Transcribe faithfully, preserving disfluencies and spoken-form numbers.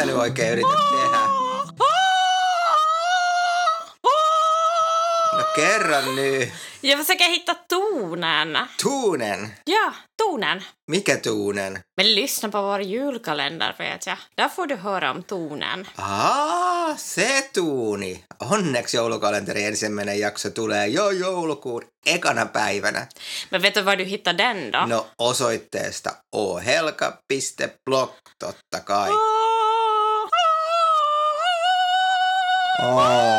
sä nyt oikein yrität tehdä? No kerran nyt. Jag försöker hitta tonen. Tuunen? Ja, tonen. Mikä tuunen? Men lyssna på vår julkalender, vet jag. Där får du höra om tonen. Aa, se tuuni. Onneksi joulukalenterin ensimmäinen jakso tulee jo joulukuun ekana päivänä. Men vet du var du hittar den då? No osoitteesta ohelka piste blog, totta kai. Oh.